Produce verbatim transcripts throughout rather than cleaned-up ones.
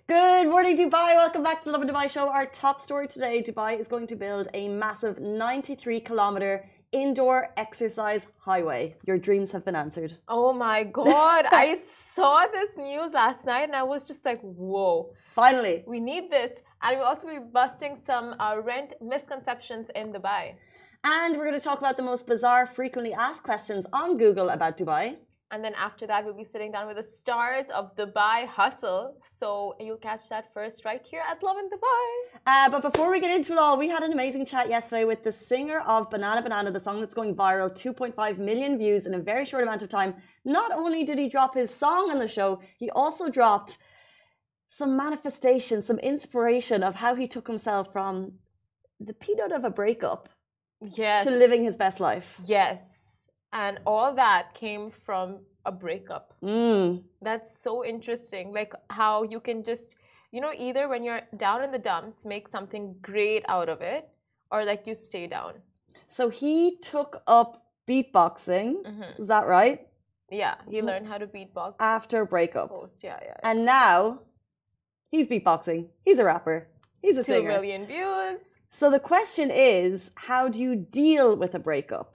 Good morning, Dubai. Welcome back to the Love in Dubai show. Our top story today, Dubai is going to build a massive ninety-three kilometer indoor exercise highway. Your dreams have been answered. Oh my God. I saw this news last night and I was just like, whoa. Finally. We need this. And we'll also be busting some uh, rent misconceptions in Dubai. And we're going to talk about the most bizarre, frequently asked questions on Google about Dubai. And then after that, we'll be sitting down with the stars of Dubai Hustle. So you'll catch that first right here at Love in Dubai. Uh, but before we get into it all, we had an amazing chat yesterday with the singer of Banana Banana, the song that's going viral, two point five million views in a very short amount of time. Not only did he drop his song on the show, he also dropped some manifestation, some inspiration of how he took himself from the peanut of a breakup Yes. to living his best life. Yes. And all that came from a breakup. Mm. That's so interesting. Like how you can just, you know, either when you're down in the dumps, make something great out of it, or like you stay down. So he took up beatboxing. Mm-hmm. Is that right? Yeah, he learned how to beatbox. After a breakup. Post, yeah, yeah. yeah. And now he's beatboxing. He's a rapper. He's a Two singer. million views. So the question is, how do you deal with a breakup?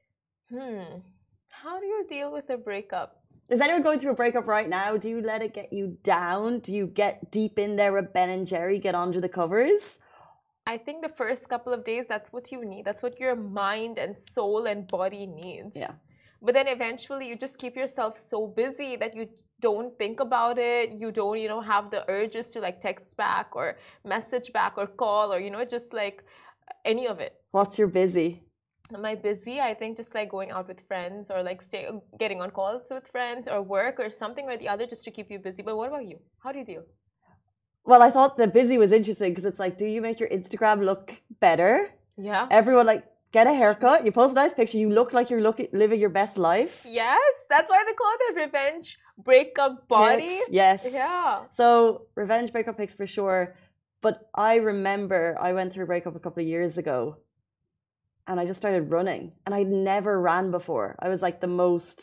Hmm. How do you deal with a breakup? Is anyone going through a breakup right now? Do you let it get you down? Do you get deep in there with Ben and Jerry, get under the covers? I think the first couple of days, that's what you need. That's what your mind and soul and body needs. Yeah. But then eventually you just keep yourself so busy that you don't think about it. You don't, you know, have the urges to like text back or message back or call or, you know, just like any of it. What's your busy? Am I busy? I think just like going out with friends or like stay, getting on calls with friends or work or something or the other just to keep you busy. But what about you? How do you deal? Well, I thought the busy was interesting because it's like, do you make your Instagram look better? Yeah. Everyone like, get a haircut, you post a nice picture, you look like you're looking, living your best life. Yes, that's why they call it the revenge breakup body. Yes. yes. Yeah. So revenge breakup pics for sure. But I remember I went through a breakup a couple of years ago and I just started running. And I'd never ran before. I was like the most,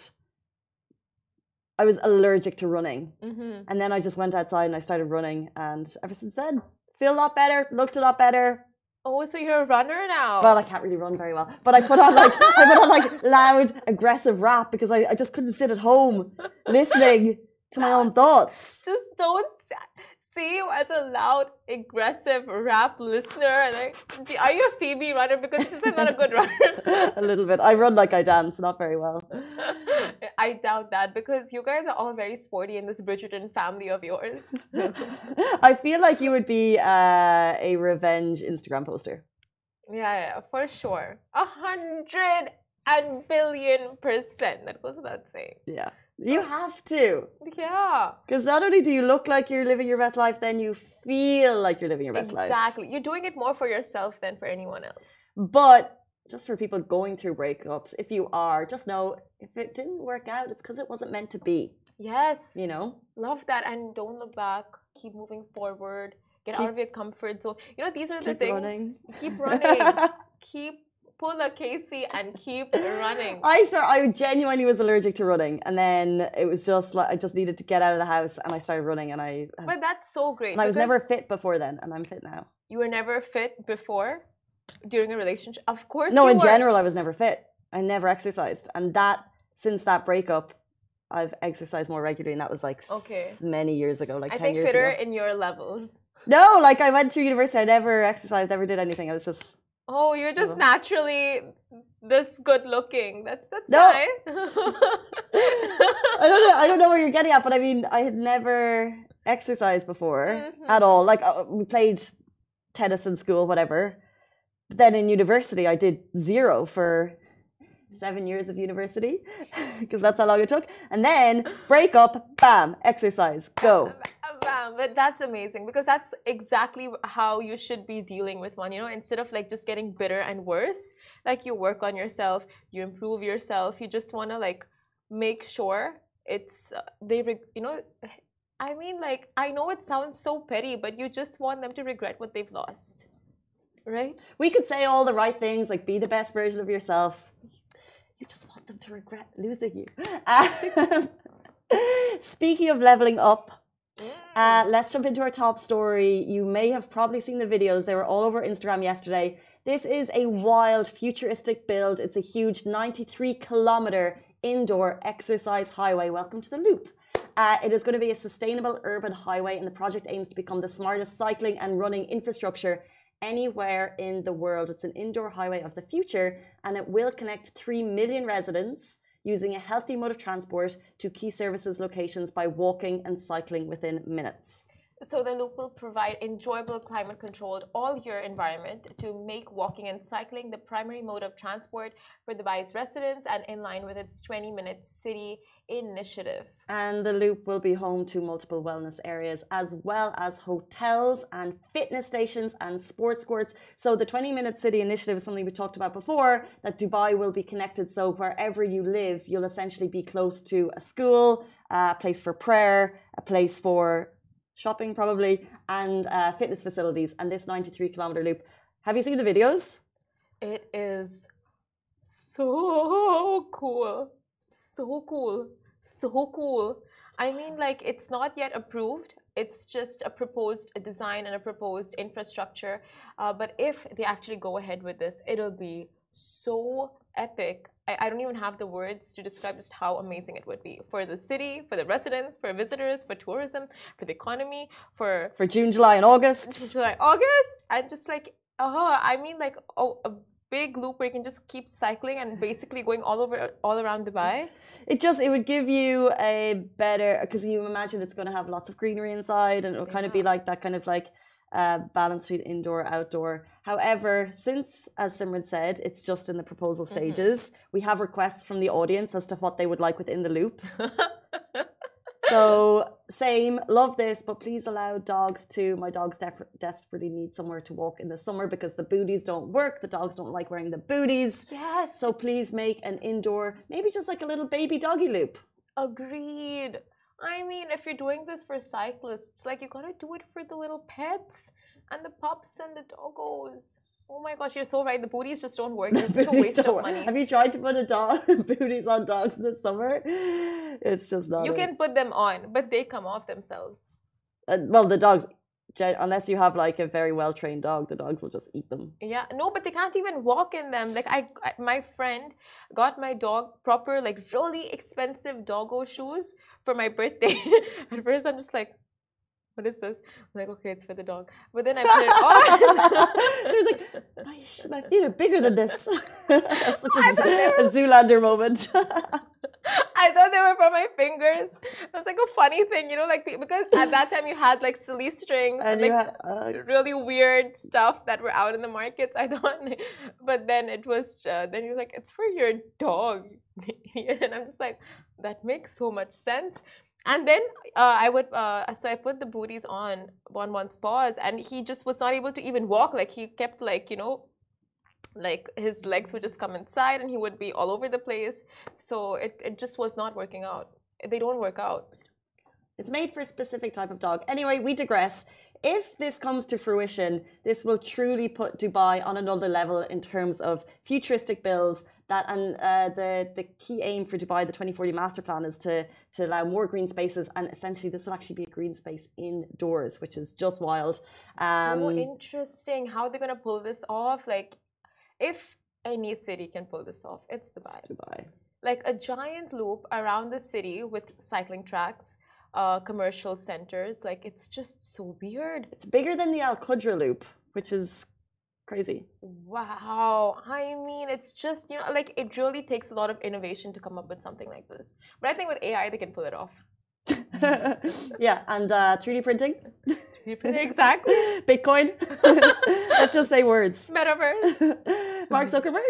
I was allergic to running. Mm-hmm. And then I just went outside and I started running. And ever since then, feel a lot better, looked a lot better. Oh, so you're a runner now? Well, I can't really run very well, but I put on like I put on like loud, aggressive rap because I, I just couldn't sit at home listening to my own thoughts. Just don't see you as a loud, aggressive rap listener. Like, are you a Phoebe runner? Because she's just not a good runner. A little bit. I run like I dance, not very well. I doubt that because you guys are all very sporty in this Bridgerton family of yours. I feel like you would be uh, a revenge Instagram poster. Yeah, yeah, for sure. A hundred and billion percent. That goes without saying. Yeah. You have to. Yeah. Because not only do you look like you're living your best life, then you feel like you're living your best exactly. life. Exactly. You're doing it more for yourself than for anyone else. But just for people going through breakups, if you are, just know if it didn't work out, it's because it wasn't meant to be. Yes. You know? Love that. And don't look back. Keep moving forward. Get keep, out of your comfort zone. You know, these are the keep things. Running. Keep running. Keep pull a Casey and keep running. I swear, I genuinely was allergic to running, and then it was just like I just needed to get out of the house, and I started running, and I. But that's so great. And I was never fit before then, and I'm fit now. You were never fit before, during a relationship. Of course. No, you in were. general, I was never fit. I never exercised, and that since that breakup, I've exercised more regularly, and that was like okay. s- many years ago, like I ten think years fitter ago. in your levels. No, like I went through university, I never exercised, never did anything. I was just. Oh, you're just oh. naturally this good looking. That's that's no. nice. I don't know. I don't know where you're getting at, but I mean, I had never exercised before mm-hmm. at all. Like uh, we played tennis in school, whatever. But then in university, I did zero for seven years of university because that's how long it took. And then break up, bam, exercise, go. Bam. But that's amazing because that's exactly how you should be dealing with one, you know, instead of like just getting bitter and worse, like you work on yourself, you improve yourself, you just want to like make sure it's, uh, they, you know, I mean, like, I know it sounds so petty, but you just want them to regret what they've lost, right? We could say all the right things, like be the best version of yourself. You just want them to regret losing you. Um, speaking of leveling up, Mm. Uh, let's jump into our top story. You may have probably seen the videos. They were all over Instagram yesterday. This is a wild, futuristic build. It's a huge ninety-three kilometer indoor exercise highway. Welcome to the Loop. Uh, it is going to be a sustainable urban highway, and the project aims to become the smartest cycling and running infrastructure anywhere in the world. It's an indoor highway of the future, and it will connect three million residents using a healthy mode of transport to key services locations by walking and cycling within minutes. So the Loop will provide enjoyable, climate-controlled, all-year environment to make walking and cycling the primary mode of transport for Dubai's residents, and in line with its twenty-minute city initiative. And the Loop will be home to multiple wellness areas, as well as hotels and fitness stations and sports courts. So the twenty-minute city initiative is something we talked about before, that Dubai will be connected. So wherever you live, you'll essentially be close to a school, a place for prayer, a place for shopping probably, and uh, fitness facilities. And this ninety-three kilometer loop, have you seen the videos? It is so cool. So cool. So cool. I mean, like, it's not yet approved. It's just a proposed a design and a proposed infrastructure. Uh, but if they actually go ahead with this, it'll be so epic. I, I don't even have the words to describe just how amazing it would be for the city, for the residents, for visitors, for tourism, for the economy, for for June, July, and August. July, August, and just like oh, I mean, like oh, a big loop where you can just keep cycling and basically going all over, all around Dubai. It just it would give you a better, because you imagine it's going to have lots of greenery inside, and it'll kind Yeah. of be like that kind of like uh, balance between indoor outdoor. However, since, as Simran said, it's just in the proposal stages, mm-hmm. we have requests from the audience as to what they would like within the loop. So, same, love this, but please allow dogs to, my dogs de- desperately need somewhere to walk in the summer because the booties don't work. The dogs don't like wearing the booties. Yes. So please make an indoor, maybe just like a little baby doggy loop. Agreed. I mean, if you're doing this for cyclists, like you gotta do it for the little pets and the pups and the doggos. Oh my gosh, you're so right. The booties just don't work. They're such a waste of money. Have you tried to put a dog booties on dogs this summer? It's just not. You it. can put them on, but they come off themselves. Uh, well, the dogs, unless you have like a very well trained dog, the dogs will just eat them. Yeah, no, but they can't even walk in them. Like I, I my friend got my dog proper, like really expensive doggo shoes for my birthday. At first, I'm just like, what is this? I'm like, okay, it's for the dog. But then I put it on. So it's like, my, my feet are bigger than this. Such a, a Zoolander moment. I thought they were for my fingers. It was like a funny thing, you know, like because at that time you had like silly strings and, and like had, uh, really weird stuff that were out in the markets. I thought, but then it was uh, then you're like, it's for your dog, and I'm just like, that makes so much sense. And then uh, I would, uh, so I put the booties on on one's paws, and he just was not able to even walk. Like he kept like, you know, like his legs would just come inside and he would be all over the place. So it, it just was not working out. They don't work out. It's made for a specific type of dog. Anyway, we digress. If this comes to fruition, this will truly put Dubai on another level in terms of futuristic builds. That and uh, the the key aim for Dubai, the twenty forty master plan, is to to allow more green spaces, and essentially this will actually be a green space indoors, which is just wild. Um, so interesting how they're gonna pull this off. Like, if any city can pull this off, it's Dubai. It's Dubai. Like a giant loop around the city with cycling tracks, uh, commercial centers. Like it's just so weird. It's bigger than the Al Qudra loop, which is crazy. Wow. I mean, it's just, you know, like it really takes a lot of innovation to come up with something like this. But I think with A I, they can pull it off. Yeah, and uh, three D printing. three D printing, exactly. Bitcoin. Let's just say words. Metaverse. Mark Zuckerberg.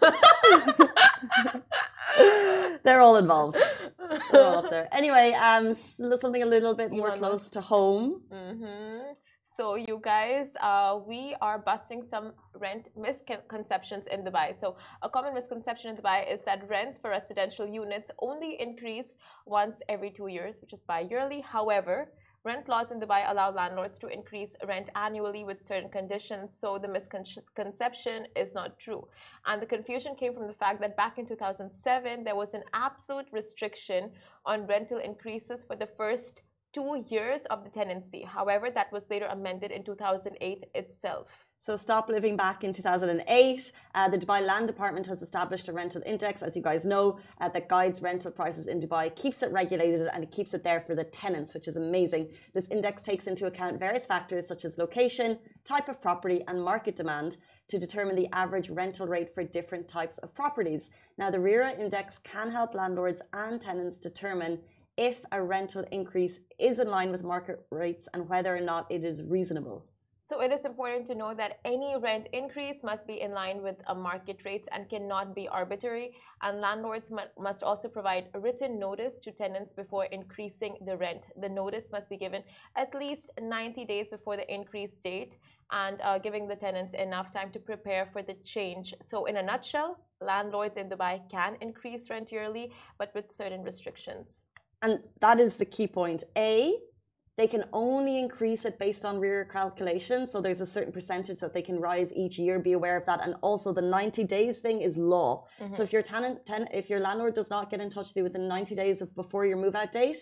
They're all involved. They're all up there. Anyway, um, something a little bit more close to home. Mm-hmm. So you guys, uh, we are busting some rent misconceptions in Dubai. So a common misconception in Dubai is that rents for residential units only increase once every two years, which is bi-yearly. However, rent laws in Dubai allow landlords to increase rent annually with certain conditions. So the misconception is not true. And the confusion came from the fact that back in two thousand seven, there was an absolute restriction on rental increases for the first two years of the tenancy. However, that was later amended in two thousand eight itself. So stop living back in two thousand eight. Uh, the Dubai Land Department has established a rental index, as you guys know, uh, that guides rental prices in Dubai, keeps it regulated, and it keeps it there for the tenants, which is amazing. This index takes into account various factors such as location, type of property, and market demand to determine the average rental rate for different types of properties. Now, the RERA index can help landlords and tenants determine if a rental increase is in line with market rates and whether or not it is reasonable. So it is important to know that any rent increase must be in line with a market rates and cannot be arbitrary. And landlords must also provide a written notice to tenants before increasing the rent. The notice must be given at least ninety days before the increase date and uh, giving the tenants enough time to prepare for the change. So in a nutshell, landlords in Dubai can increase rent yearly, but with certain restrictions. And that is the key point. A, they can only increase it based on RERA calculations. So there's a certain percentage that they can rise each year. Be aware of that. And also the ninety days thing is law. Mm-hmm. So if your tenant, ten, if your landlord does not get in touch with you within ninety days of before your move out date,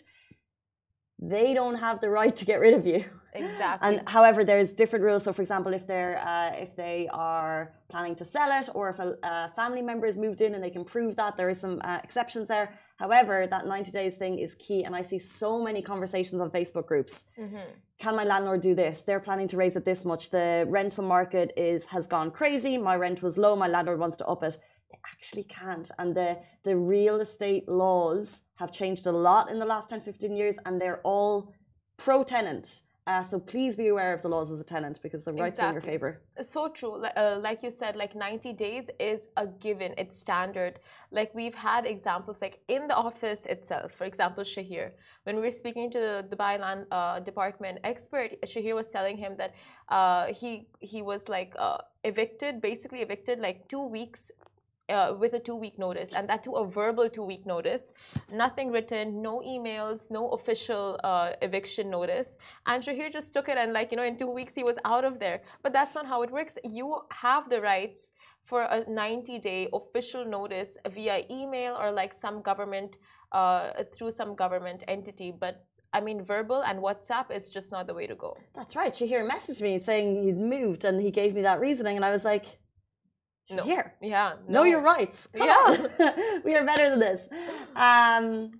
they don't have the right to get rid of you. Exactly. And however, there's different rules. So for example, if they're uh, if they are planning to sell it, or if a, a family member has moved in and they can prove that, there are some uh, exceptions there. However, that ninety days thing is key. And I see so many conversations on Facebook groups. Mm-hmm. Can my landlord do this? They're planning to raise it this much. The rental market is has gone crazy. My rent was low. My landlord wants to up it. They actually can't. And the, the real estate laws have changed a lot in the last ten, fifteen years. And they're all pro-tenant. Uh, so please be aware of the laws as a tenant, because the rights exactly. are in your favor. So true. Uh, like you said, like ninety days is a given. It's standard. Like we've had examples like in the office itself. For example, Shahir, when we were speaking to the Dubai Land uh, Department expert, Shahir was telling him that uh, he he was like uh, evicted, basically evicted like two weeks Uh, with a two-week notice, and that to a verbal two-week notice, nothing written, no emails, no official uh, eviction notice. And Shahir just took it, and like, you know, in two weeks he was out of there. But that's not how it works. You have the rights for a ninety-day official notice via email or like some government, uh, through some government entity. But I mean, verbal and WhatsApp is just not the way to go. That's right. Shahir messaged me saying he'd moved, and he gave me that reasoning, and I was like, No. Here. Yeah. No. Know your rights. Come yeah. on. We are better than this. Um,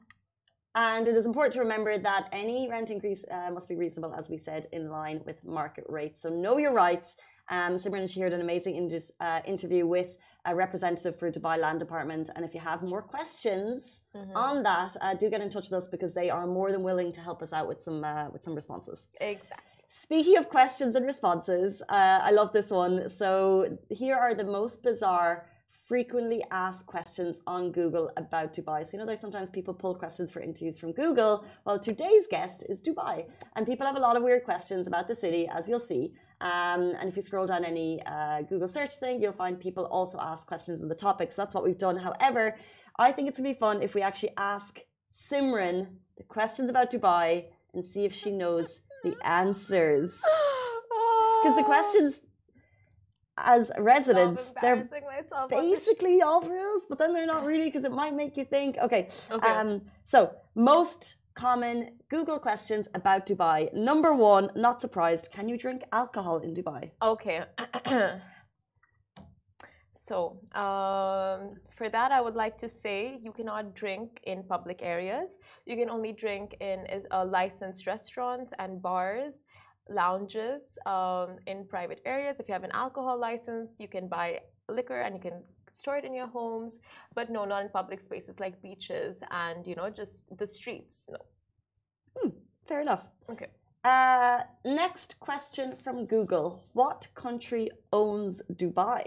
and it is important to remember that any rent increase uh, must be reasonable, as we said, in line with market rates. So know your rights. Um, Simran and Shahir did an amazing in- uh, interview with a representative for Dubai Land Department. And if you have more questions mm-hmm. on that, uh, do get in touch with us, because they are more than willing to help us out with some uh, with some responses. Exactly. Speaking of questions and responses, uh, I love this one. So here are the most bizarre, frequently asked questions on Google about Dubai. So you know, there's sometimes people pull questions for interviews from Google. Well, today's guest is Dubai. And people have a lot of weird questions about the city, as you'll see. Um, and if you scroll down any uh, Google search thing, you'll find people also ask questions on the topics. So that's what we've done. However, I think it's going to be fun if we actually ask Simran the questions about Dubai and see if she knows the answers, because the questions as residents they're basically all rules, but then they're not really, because it might make you think. Okay, okay. Um, so most common Google questions about Dubai. Number one, not surprised, can you drink alcohol in Dubai? Okay. So um, for that, I would like to say you cannot drink in public areas. You can only drink in uh, licensed restaurants and bars, lounges, um, in private areas. If you have an alcohol license, you can buy liquor and you can store it in your homes. But no, not in public spaces like beaches and, you know, just the streets. No. Hmm, fair enough. Okay. Uh, next question from Google. What country owns Dubai?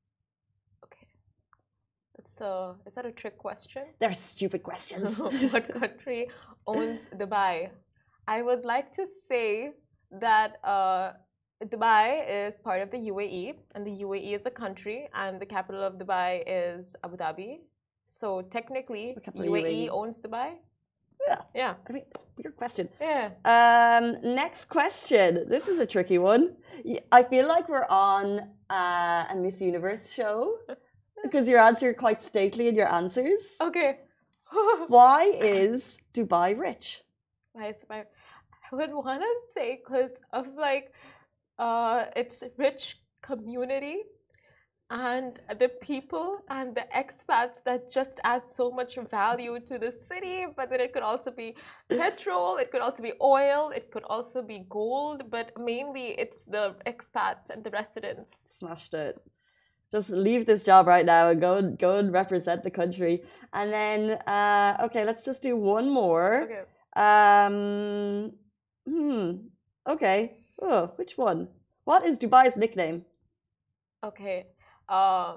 So, is that a trick question? They're stupid questions. What country owns Dubai? I would like to say that uh, Dubai is part of the U A E, and the U A E is a country, and the capital of Dubai is Abu Dhabi. So, technically, U A E, U A E owns Dubai. Yeah. Yeah. I mean, it's a weird question. Yeah. Um, next question. This is a tricky one. I feel like we're on uh, a Miss Universe show. Because your answer are quite stately in your answers. Okay. Why is Dubai rich? Why is Dubai? I would want to say because of like uh, its rich community and the people and the expats that just add so much value to the city. But then it could also be petrol, it could also be oil, it could also be gold. But mainly it's the expats and the residents. Smashed it. Just leave this job right now and go and go and represent the country. And then, uh, okay, let's just do one more. Okay. Um, hmm. Okay. Oh, which one? What is Dubai's nickname? Okay. Um,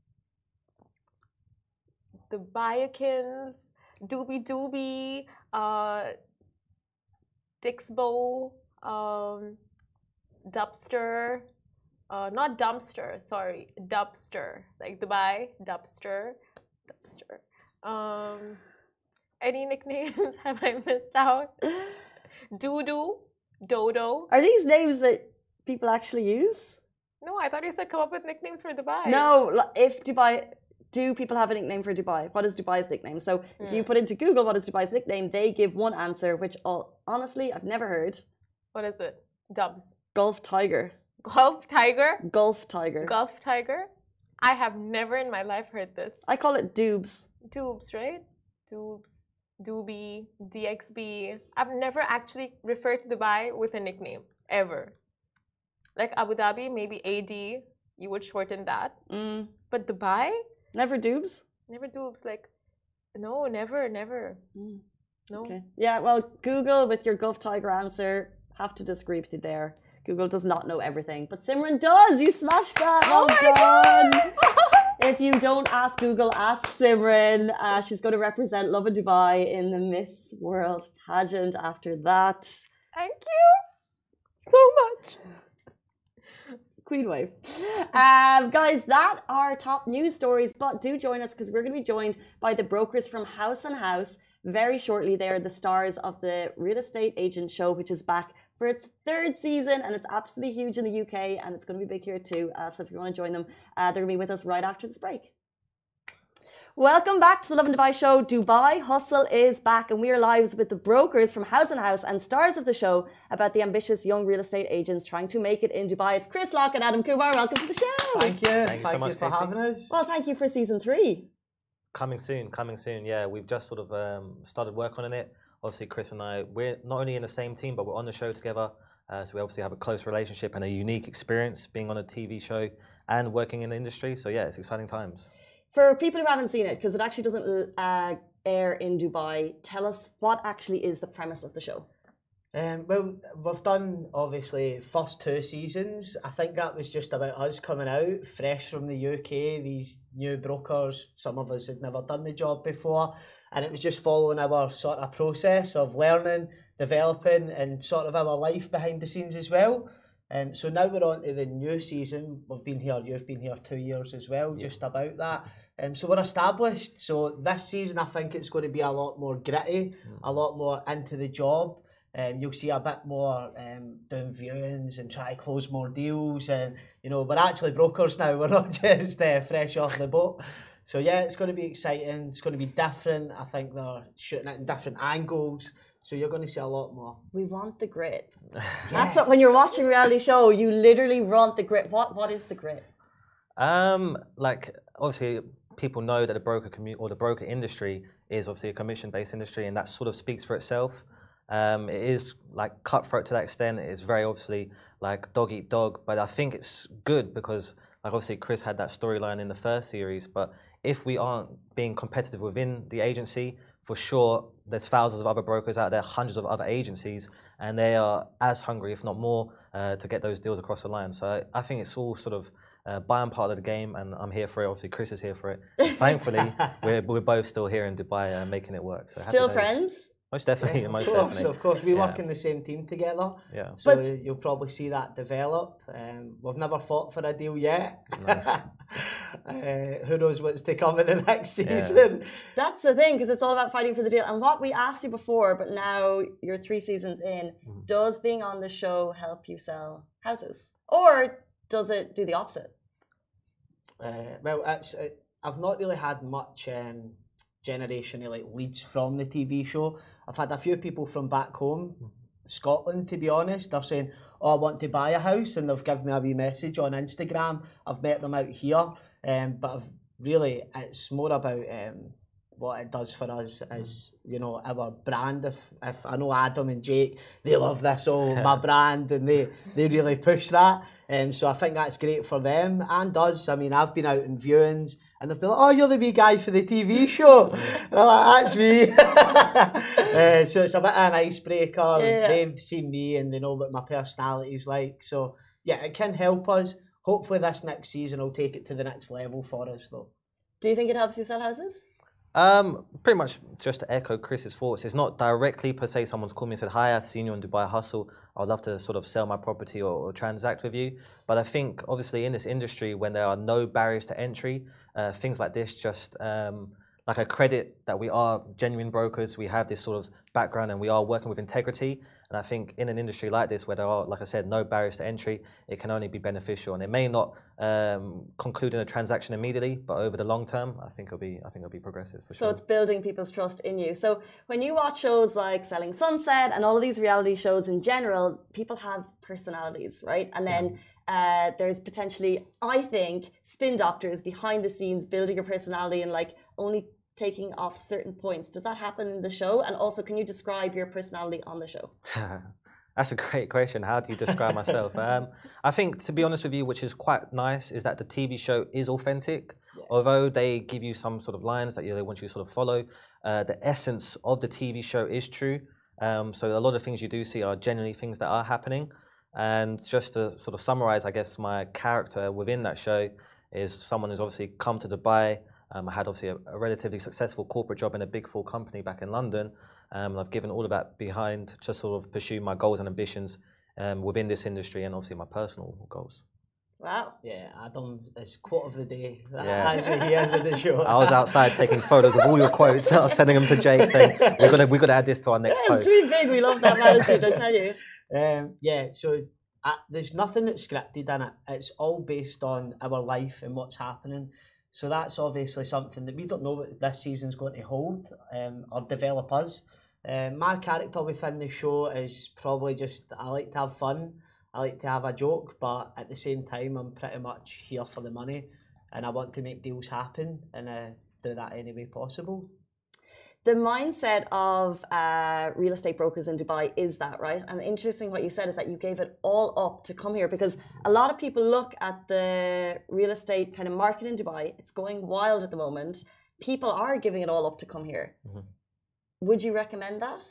the Bayakins, Doobie Doobie, uh, Dixbo, um, Dubster. Uh, not dumpster, sorry, dubster, like Dubai, dubster, dubster. Um, any nicknames have I missed out? Doodoo, Dodo. Are these names that people actually use? No, I thought you said come up with nicknames for Dubai. No, if Dubai, do people have a nickname for Dubai? What is Dubai's nickname? So if Mm. you put into Google what is Dubai's nickname, they give one answer, which all, honestly I've never heard. What is it? Dubs. Gulf Tiger. Gulf Tiger? Gulf Tiger. Gulf Tiger? I have never in my life heard this. I call it Dubes. Dubes, right? Dubes, Doobie, D X B. I've never actually referred to Dubai with a nickname, ever. Like Abu Dhabi, maybe A D, you would shorten that. Mm. But Dubai? Never Dubes? Never Dubes. Like, no, never, never. Mm. No. Okay. Yeah, well, Google with your Gulf Tiger answer, have to disagree with you there. Google does not know everything, but Simran does. You smashed that. Well oh my done. God. If you don't ask Google, ask Simran. Uh, she's going to represent Lovin Dubai in the Miss World pageant after that. Thank you so much. Queen wave. Um, guys, that are top news stories, but do join us because we're going to be joined by the brokers from House and House very shortly. They are the stars of the Real Estate Agent Show, which is back for its third season, and it's absolutely huge in the U K, and it's going to be big here too. Uh, so if you want to join them, uh, they're going to be with us right after this break. Welcome back to the Lovin Dubai show. Dubai Hustle is back, and we are live with the brokers from House and House and stars of the show about the ambitious young real estate agents trying to make it in Dubai. It's Chris Locke and Adam Kumar. Welcome to the show. Thank you. Thank Thank you so you much, for Casey. having us. Well, thank you for season three. Coming soon, coming soon. Yeah, we've just sort of um, started work on it. Obviously, Chris and I, we're not only in the same team, but we're on the show together. Uh, so we obviously have a close relationship and a unique experience being on a T V show and working in the industry. So yeah, it's exciting times. For people who haven't seen it, because it actually doesn't uh, air in Dubai, tell us what actually is the premise of the show. Um, well, we've done obviously first two seasons. I think that was just about us coming out fresh from the U K. These new brokers, some of us had never done the job before, and it was just following our sort of process of learning, developing, and sort of our life behind the scenes as well. Um, so now we're on to the new season. We've been here, you've been here two years as well, Yeah. just about that. Um, so we're established. So this season, I think it's going to be a lot more gritty, Mm. a lot more into the job. Um, you'll see a bit more um, doing viewings and try to close more deals. And, you know, we're actually brokers now. We're not just uh, fresh off the boat. So, yeah, it's going to be exciting. It's going to be different. I think they're shooting it in different angles. So you're going to see a lot more. We want the grit. That's what, when you're watching a reality show, you literally want the grit. What What is the grit? Um, like obviously, people know that the broker community or the broker industry is obviously a commission-based industry, and that sort of speaks for itself. Um, it is like cutthroat to that extent. It's very obviously like dog eat dog, but I think it's good because like obviously Chris had that storyline in the first series, but if we aren't being competitive within the agency, for sure there's thousands of other brokers out there, hundreds of other agencies, and they are as hungry, if not more, uh, to get those deals across the line. So I, I think it's all sort of uh, by and part of the game, and I'm here for it. Obviously, Chris is here for it. And thankfully, we're, we're both still here in Dubai uh, making it work. So happy Still days. friends? Most definitely, Yeah, most of course, definitely. of course. We Yeah. work in the same team together. Yeah. So you'll probably see that develop. Um, we've never fought for a deal yet. uh, who knows what's to come in the next season? That's the thing, because it's all about fighting for the deal. And what we asked you before, but now you're three seasons in, Mhm. does being on the show help you sell houses? Or does it do the opposite? Uh, well, it's, uh, I've not really had much um, generational like leads from the T V show. I've had a few people from back home Scotland, to be honest. They're saying, oh, I want to buy a house, and they've given me a wee message on Instagram. I've met them out here, um, but I've really, it's more about um, what it does for us as, you know, our brand. If, if I know Adam and Jake, they love this, oh, my brand, and they, they really push that. Um, so I think that's great for them and us. I mean, I've been out in viewings and they've been like, oh, you're the wee guy for the T V show. And I'm like, that's me. uh, so it's a bit of an icebreaker. Yeah. They've seen me and they know what my personality is like. So, yeah, it can help us. Hopefully this next season will take it to the next level for us, though. Do you think it helps you sell houses? Um, pretty much just to echo Chris's thoughts. It's not directly per se someone's called me and said, hi, I've seen you on Dubai Hustle. I would love to sort of sell my property or, or transact with you. But I think obviously in this industry, when there are no barriers to entry, uh, things like this just um, like a credit that we are genuine brokers. We have this sort of background and we are working with integrity. And I think in an industry like this, where there are, like I said, no barriers to entry, it can only be beneficial. And it may not um, conclude in a transaction immediately, but over the long term, I think it'll be, I think it'll be progressive for So sure. it's building people's trust in you. So when you watch shows like Selling Sunset and all of these reality shows in general, people have personalities, right? And then uh, there's potentially, I think, spin doctors behind the scenes building your personality and like only taking off certain points. Does that happen in the show? And also, can you describe your personality on the show? That's a great question. How do you describe myself? Um, I think, to be honest with you, which is quite nice, is that the T V show is authentic. Yeah. Although they give you some sort of lines that you know, they want you to sort of follow, uh, the essence of the T V show is true. Um, so a lot of things you do see are genuinely things that are happening. And just to sort of summarize, I guess, my character within that show is someone who's obviously come to Dubai. Um, I had obviously a, a relatively successful corporate job in a big four company back in London. Um, and I've given all of that behind to sort of pursue my goals and ambitions um, within this industry and obviously my personal goals. Wow. Yeah, Adam is quote of the day. Yeah. As he is in the show. I was outside taking photos of all your quotes. I was sending them to Jake saying, we've got to, we've got to add this to our next Yeah, post. it's really big. We love that attitude, I tell you. Um, yeah, so uh, there's nothing that's scripted in it. It's all based on our life and what's happening. So that's obviously something that we don't know what this season's going to hold um, or develop us. Um, my character within the show is probably just, I like to have fun. I like to have a joke, but at the same time, I'm pretty much here for the money and I want to make deals happen and uh, do that any way possible. The mindset of uh, real estate brokers in Dubai is that, right? And interesting what you said is that you gave it all up to come here because a lot of people look at the real estate kind of market in Dubai. It's going wild at the moment. People are giving it all up to come here. Mm-hmm. Would you recommend that?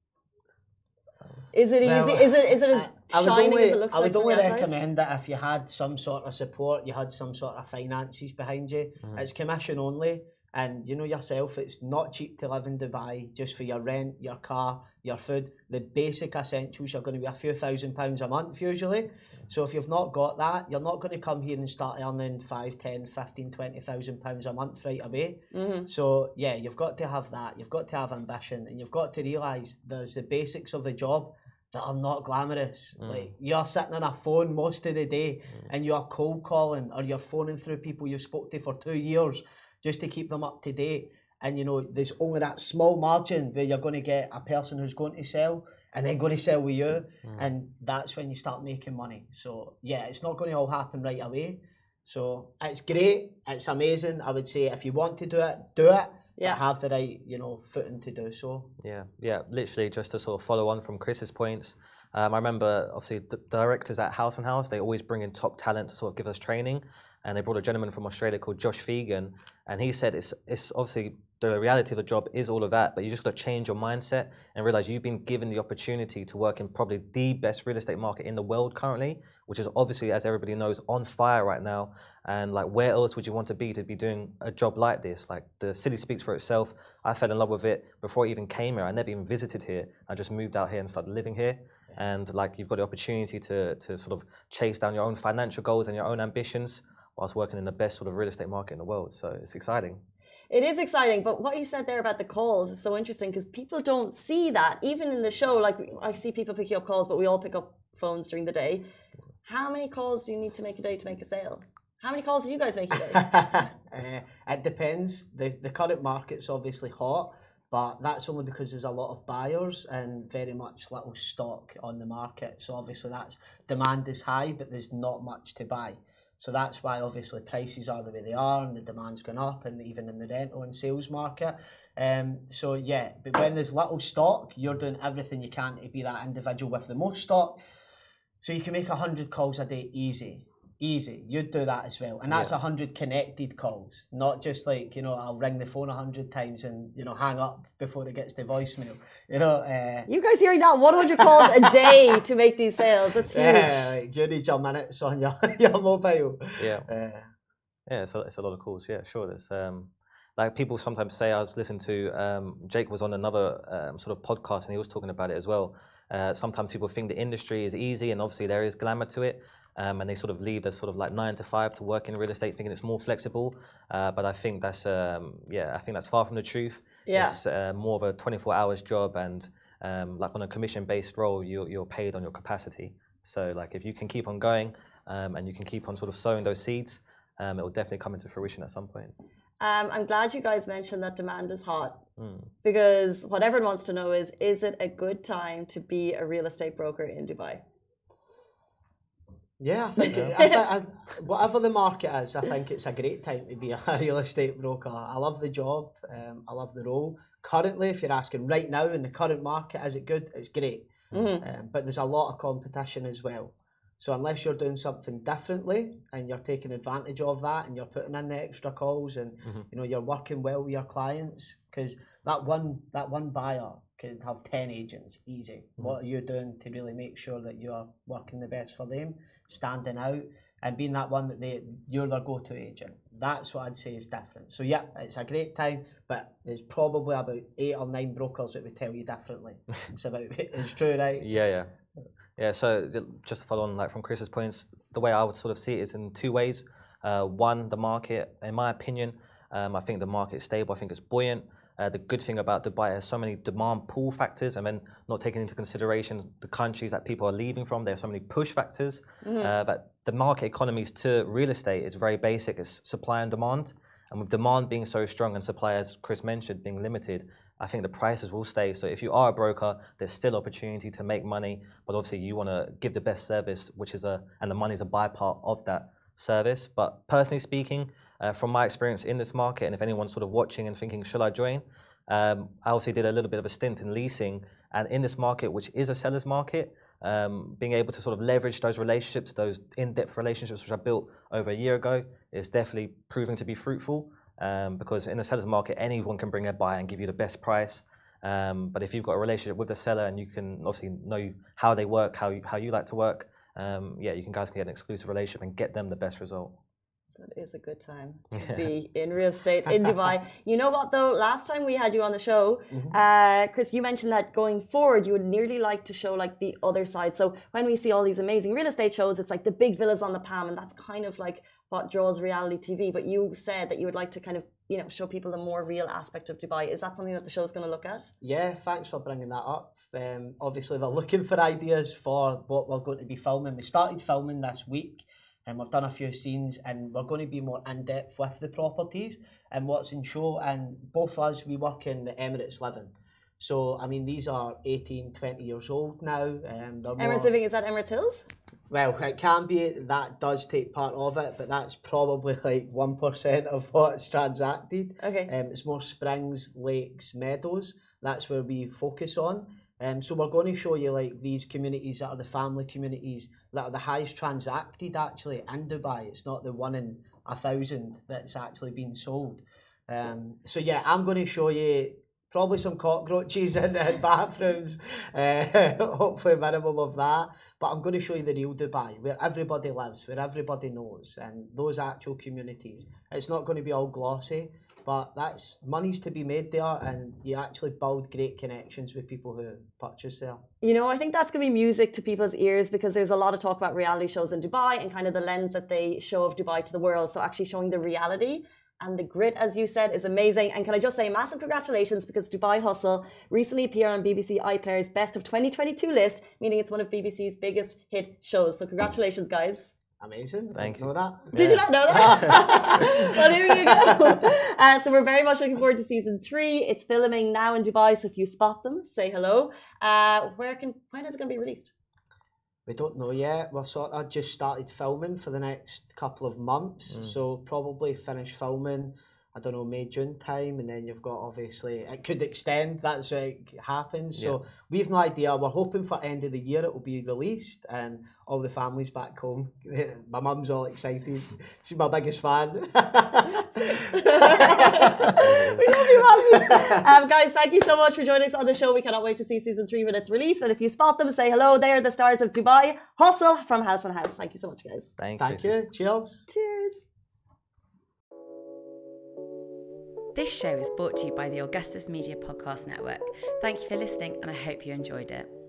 Is it well, easy? Is it is it as I, shining I only, as it looks I like? would only from the outside? recommend it if you had some sort of support, you had some sort of finances behind you. Mm-hmm. It's commission only. And you know yourself, it's not cheap to live in Dubai just for your rent, your car, your food. The basic essentials are going to be a few thousand pounds a month usually. So if you've not got that, you're not going to come here and start earning five, ten, fifteen, twenty thousand pounds a month right away. Mm-hmm. So yeah, you've got to have that. You've got to have ambition and you've got to realise there's the basics of the job that are not glamorous. Mm. Like you're sitting on a phone most of the day mm. and you're cold calling or you're phoning through people you've spoke to for two years. Just to keep them up to date. And, you know, there's only that small margin where you're going to get a person who's going to sell and then going to sell with you. Mm. And that's when you start making money. So, yeah, it's not going to all happen right away. So, it's great. It's amazing. I would say if you want to do it, do it. Yeah. But have the right, you know, footing to do so. Yeah, yeah. Literally just to sort of follow on from Chris's points. Um, I remember, obviously, the directors at House and House, they always bring in top talent to sort of give us training. And they brought a gentleman from Australia called Josh Fegan. And he said it's it's obviously the reality of the job is all of that, but you just got to change your mindset and realize you've been given the opportunity to work in probably the best real estate market in the world currently, which is obviously, as everybody knows, on fire right now. And like, where else would you want to be to be doing a job like this? Like, the city speaks for itself. I fell in love with it before I even came here. I never even visited here. I just moved out here and started living here. And like, you've got the opportunity to to sort of chase down your own financial goals and your own ambitions whilst working in the best sort of real estate market in the world. So it's exciting. It is exciting, but what you said there about the calls is so interesting because people don't see that. Even in the show, like I see people picking up calls, but we all pick up phones during the day. How many calls do you need to make a day to make a sale? How many calls do you guys make a day? uh, it depends. The, the current market's obviously hot. But that's only because there's a lot of buyers and very much little stock on the market. So obviously that's demand is high, but there's not much to buy. So that's why obviously prices are the way they are and the demand's gone up, and even in the rental and sales market. Um, so yeah, but when there's little stock, you're doing everything you can to be that individual with the most stock. So you can make one hundred calls a day easy. Easy. You'd do that as well. And that's yeah. one hundred connected calls, not just like, you know, I'll ring the phone one hundred times and, you know, hang up before it gets to voicemail. You know, uh, you guys hearing that? one hundred calls a day to make these sales. That's huge. Yeah, like you need your minutes on your, your mobile. Yeah. Uh, yeah, it's a, it's a lot of calls. Yeah, sure. There's, um, like people sometimes say, I was listening to, um, Jake was on another um, sort of podcast and he was talking about it as well. Uh, sometimes people think the industry is easy and obviously there is glamour to it. Um, and they sort of leave the sort of like nine to five to work in real estate, thinking it's more flexible. Uh, but I think that's um, yeah, I think that's far from the truth. Yeah. It's uh, more of a twenty-four hours job, and um, like on a commission-based role, you're you're paid on your capacity. So like if you can keep on going um, and you can keep on sort of sowing those seeds, um, it will definitely come into fruition at some point. Um, I'm glad you guys mentioned that demand is hot mm. because what everyone wants to know is: is it a good time to be a real estate broker in Dubai? Yeah, I think, it, I th- I, whatever the market is, I think it's a great time to be a real estate broker. I love the job, um, I love the role. Currently, if you're asking right now in the current market, is it good? It's great. Mm-hmm. Um, but there's a lot of competition as well. So unless you're doing something differently and you're taking advantage of that and you're putting in the extra calls and mm-hmm. you know you're working well with your clients, because that one that one buyer can have ten agents easy. Mm-hmm. What are you doing to really make sure that you're working the best for them, standing out and being that one that they you're their go-to agent? That's what I'd say is different. So yeah, it's a great time, but there's probably about eight or nine brokers that would tell you differently. It's about it's true, right? Yeah, yeah. Yeah, so just to follow on like from Chris's points, the way I would sort of see it is in two ways. Uh, one, the market, in my opinion, um, I think the market is stable. I think it's buoyant. Uh, the good thing about Dubai has so many demand pull factors, and then not taking into consideration the countries that people are leaving from. There are so many push factors mm-hmm. uh, that the market economies to real estate is very basic. It's supply and demand. And with demand being so strong and supply, as Chris mentioned, being limited, I think the prices will stay. So if you are a broker, there's still opportunity to make money, but obviously you want to give the best service, which is a, and the money is a bypart of that service. But personally speaking, uh, from my experience in this market, and if anyone's sort of watching and thinking, should I join? Um, I also did a little bit of a stint in leasing, and in this market, which is a seller's market, um, being able to sort of leverage those relationships, those in-depth relationships which I built over a year ago, is definitely proving to be fruitful. Um, because in the seller's market, anyone can bring a buyer and give you the best price. Um, but if you've got a relationship with the seller and you can obviously know how they work, how you, how you like to work, um, yeah, you can guys can get an exclusive relationship and get them the best result. That is a good time to be in real estate in Dubai. You know what though? Last time we had you on the show, mm-hmm. uh, Chris, you mentioned that going forward, you would nearly like to show like the other side. So when we see all these amazing real estate shows, it's like the big villas on the Palm, and that's kind of like what draws reality T V. But you said that you would like to kind of, you know, show people the more real aspect of Dubai. Is that something that the show's going to look at? Yeah, thanks for bringing that up. Um, obviously, they're looking for ideas for what we're going to be filming. We started filming this week. And we've done a few scenes, and we're going to be more in-depth with the properties and what's in show. And both of us, we work in the Emirates Living. So, I mean, these are eighteen, twenty years old now. Um, Emirates more... Living, is that Emirates Hills? Well, it can be. That does take part of it, but that's probably like one percent of what's transacted. Okay. Um, it's more springs, lakes, meadows. That's where we focus on. Um, so we're going to show you like these communities that are the family communities that are the highest transacted actually in Dubai. It's not the one in a thousand that's actually been sold. Um, so yeah, I'm going to show you probably some cockroaches in, in bathrooms, uh, hopefully a minimum of that. But I'm going to show you the real Dubai, where everybody lives, where everybody knows, and those actual communities. It's not going to be all glossy. But that's money's to be made there, and you actually build great connections with people who purchase there. You know, I think that's going to be music to people's ears, because there's a lot of talk about reality shows in Dubai and kind of the lens that they show of Dubai to the world. So actually showing the reality and the grit, as you said, is amazing. And can I just say massive congratulations, because Dubai Hustle recently appeared on B B C iPlayer's Best of twenty twenty-two list, meaning it's one of B B C's biggest hit shows. So congratulations, guys. Amazing. Thank Didn't you. know that. Did Yeah. you not know that? Well, here you go. Uh, so we're very much looking forward to season three. It's filming now in Dubai, so if you spot them, say hello. Uh, where can when is it going to be released? We don't know yet. We're sort of just started filming for the next couple of months. Mm. So probably finish filming, I don't know, May, June time. And then you've got obviously, it could extend. That's what happens. So Yeah. we've no idea. We're hoping for end of the year it will be released and all the families back home. My mum's all excited. She's my biggest fan. We love you, Matthew. Um, guys, thank you so much for joining us on the show. We cannot wait to see season three when it's released. And if you spot them, say hello. They are the stars of Dubai. Hustle from House on House. Thank you so much, guys. Thank, Thank you. you. Cheers. Cheers. This show is brought to you by the Augustus Media Podcast Network. Thank you for listening, and I hope you enjoyed it.